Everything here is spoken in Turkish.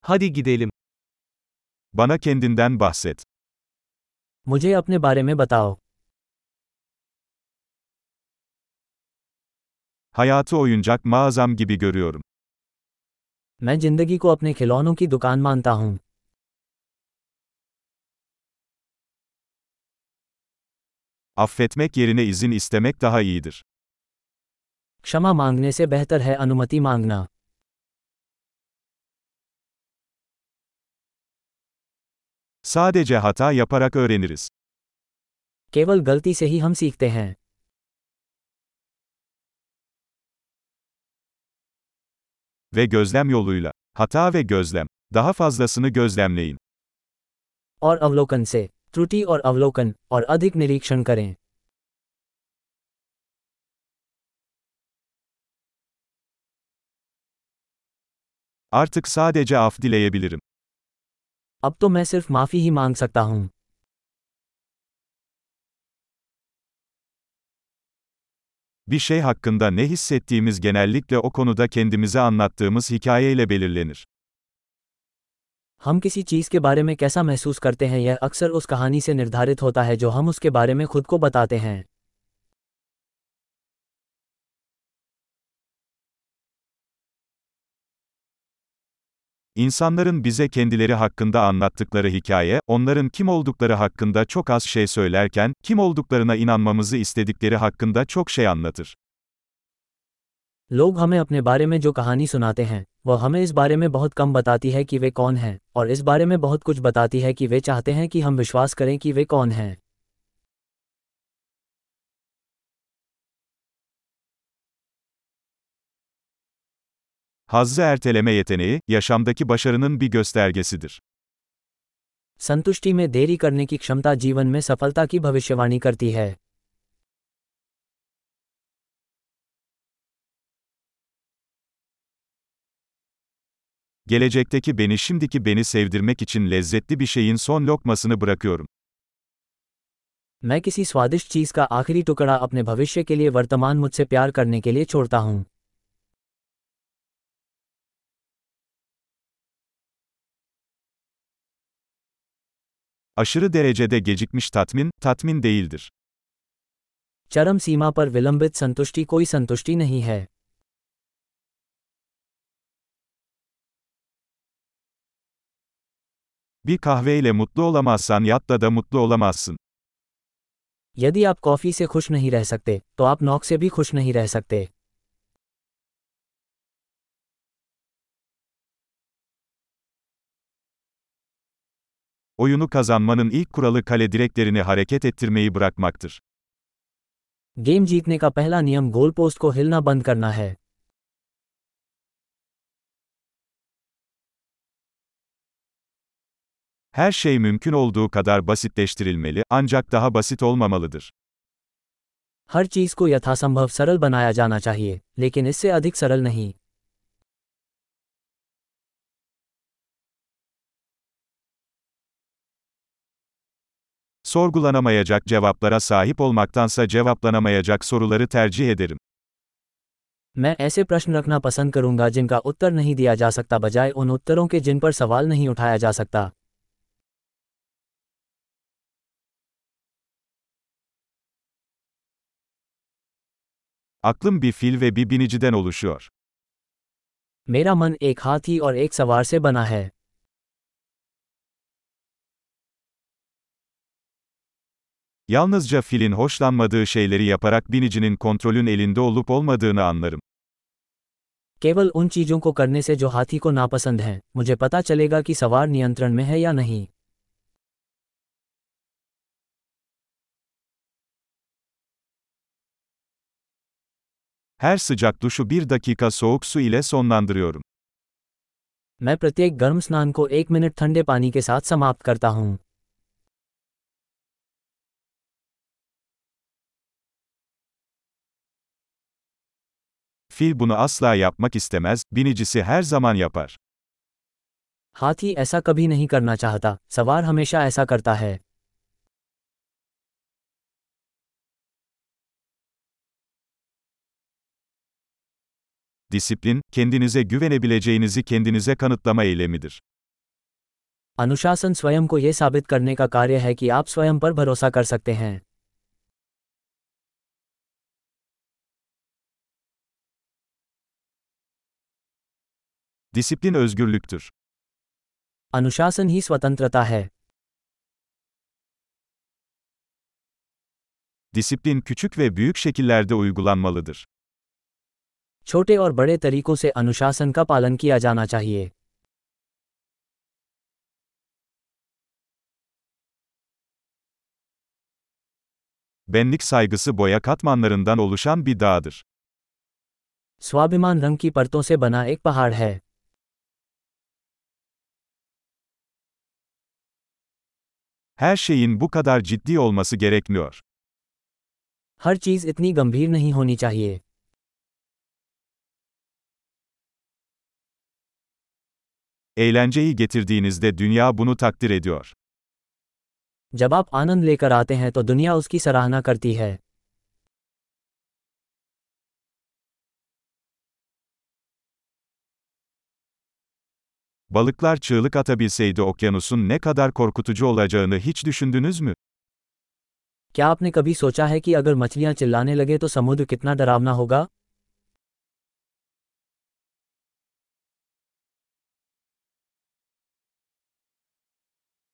Hadi gidelim. Bana kendinden bahset. मुझे अपने बारे में बताओ। Hayatı oyuncak mağazam gibi görüyorum. मैं जिंदगी को अपने खिलौनों की दुकान मानता हूँ। Affetmek yerine izin istemek daha iyidir. क्षमा मांगने से बेहतर है अनुमति मांगना। Sadece hata yaparak öğreniriz. केवल गलती से ही हम सीखते हैं। Ve gözlem yoluyla. Hata ve gözlem. Daha fazlasını gözlemleyin. और अवलोकन से, त्रुटि और अवलोकन, और अधिक निरीक्षण करें। Artık sadece af dileyebilirim. अब तो मैं सिर्फ माफी ही मांग सकता हूँ। Bir şey hakkında ne hissettiğimiz genellikle o konuda kendimize anlattığımız hikayeyle belirlenir. हम किसी चीज़ के बारे में कैसा महसूस करते हैं यह अक्सर उस कहानी से निर्धारित होता है जो हम उसके बारे में खुद को बताते हैं। İnsanların bize kendileri hakkında anlattıkları hikaye, onların kim oldukları hakkında çok az şey söylerken, kim olduklarına inanmamızı istedikleri hakkında çok şey anlatır. लोग हमें अपने बारे में जो कहानी सुनाते हैं वह हमें इस बारे में बहुत कम बताती है कि वे कौन हैं, और इस बारे में बहुत कुछ बताती है कि वे चाहते हैं कि हम विश्वास करें कि वे कौन हैं। Hazzı erteleme yeteneği, yaşamdaki başarının bir göstergesidir. संतुष्टि में देरी करने की क्षमता जीवन में सफलता की भविष्यवाणी करती है। Gelecekteki beni şimdiki beni sevdirmek için lezzetli bir şeyin son lokmasını bırakıyorum. मैं किसी स्वादिष्ट चीज़ का आखिरी टुकड़ा अपने भविष्य के लिए वर्तमान मुझसे प्यार करने के लिए छोड़ता हूँ। Aşırı derecede gecikmiş tatmin, tatmin değildir. चरम सीमा पर विलंबित संतुष्टि कोई संतुष्टि नहीं है। Bir kahveyle mutlu olamazsan yatta da mutlu olamazsın. यदि आप कॉफ़ी से खुश नहीं रह सकते तो आप नॉक से भी खुश नहीं रह सकते। Oyunu kazanmanın ilk kuralı kale direklerini hareket ettirmeyi bırakmaktır. Game जीतने का पहला नियम गोल पोस्ट को हिलना बंद करना है। Her şey mümkün olduğu kadar basitleştirilmeli, ancak daha basit olmamalıdır. हर चीज़ को यथासंभव सरल बनाया जाना चाहिए, लेकिन इससे अधिक सरल नहीं। Sorgulanamayacak cevaplara sahip olmaktansa cevaplanamayacak soruları tercih ederim. मैं ऐसे प्रश्न रखना पसंद करूंगा जिनका उत्तर नहीं दिया जा सकता बजाय उन उत्तरों के जिन पर सवाल नहीं उठाया जा सकता। Aklım bir fil ve bir biniciden oluşuyor. मेरा मन एक हाथी और एक सवार से बना है। Yalnızca filin hoşlanmadığı şeyleri yaparak binicinin kontrolün elinde olup olmadığını anlarım. केवल उन चीज़ों को करने से जो हाथी को नापसंद हैं, मुझे पता चलेगा कि सवार नियंत्रण में है या नहीं। Her sıcak duşu bir dakika soğuk su ile sonlandırıyorum. मैं प्रत्येक गर्म स्नान को 1 मिनट ठंडे पानी के साथ समाप्त करता हूँ। Fil bunu asla yapmak istemez, binicisi her zaman yapar. हाथी ऐसा कभी नहीं करना चाहता, सवार हमेशा ऐसा करता है। Disiplin, kendinize güvenebileceğinizi kendinize kanıtlama eylemidir. अनुशासन स्वयं को यह साबित करने का कार्य है कि आप स्वयं पर भरोसा कर सकते हैं। Disiplin özgürlüktür. अनुशासन ही स्वतंत्रता है। Disiplin küçük ve büyük şekillerde uygulanmalıdır. छोटे और बड़े तरीकों से अनुशासन का पालन किया जाना चाहिए। Benlik saygısı boya katmanlarından oluşan bir dağdır. स्वाभिमान रंग की परतों से बना एक पहाड़ है। Her şeyin bu kadar ciddi olması gerekmiyor. हर चीज इतनी गंभीर नहीं होनी चाहिए। Eğlenceyi getirdiğinizde dünya bunu takdir ediyor. जब आप आनंद लेकर आते हैं तो दुनिया उसकी सराहना करती है। Balıklar çığlık atabilseydi okyanusun ne kadar korkutucu olacağını hiç düşündünüz mü? क्या आपने कभी सोचा है कि अगर मछलियां चिल्लाने लगे तो समुद्र कितना डरावना होगा?